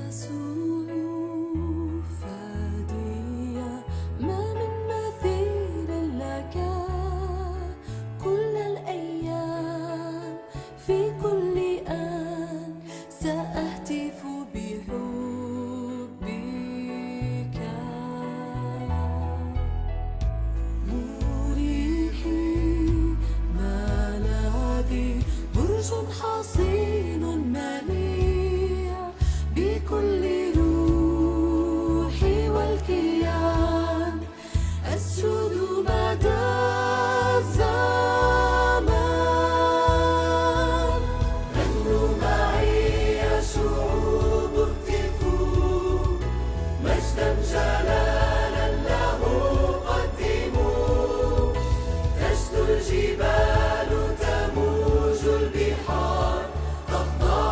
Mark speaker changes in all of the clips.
Speaker 1: حصين منيع بكل روحي والكيان أسجد مدى الزمان. غنوا معي يا شعوب اهتفوا مجدا جلالا له قدموا. تجد الجبال تموج البحار تخضع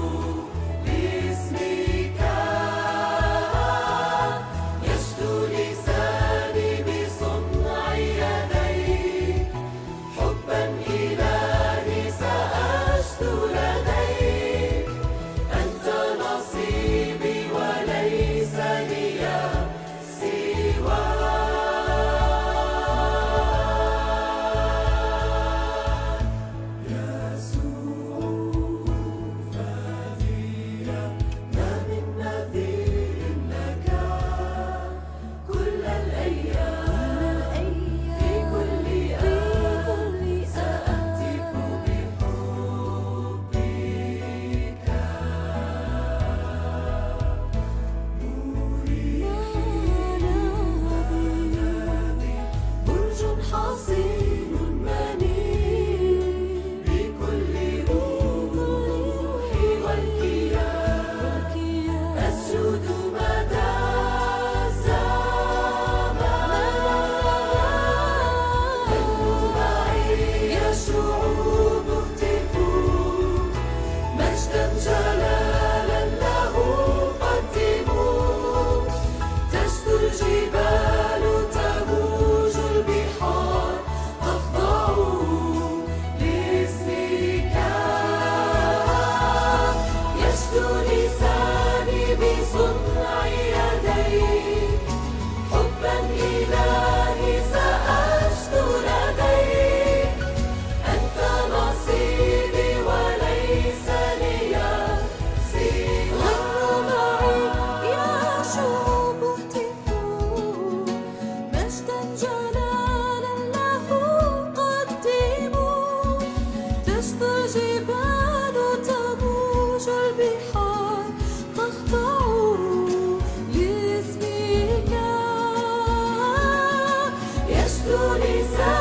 Speaker 1: لاسمك. يشدو لساني بصنع يديك حبا إلهي سأشدو لديك. أنت نصيبي وليس لي سواك. حصين منيع بكل روحي والكيان أسجد مدى الزمان. غنوا معي يا شعوب اهتفوا مجدا جلالا له قدموا. تجد الجبال تموج البحار تخضع لاسمك. يشدو لساني بصنع يديك حبا إلهي سأشدو لديك. أنت نصيبي وليس لي سواك. غنوا معي يا شعوب اهتفوا مجدا جلالا له قدموا. تشدو الجبال تموج البحار تخضع لاسمك. يشدو لساني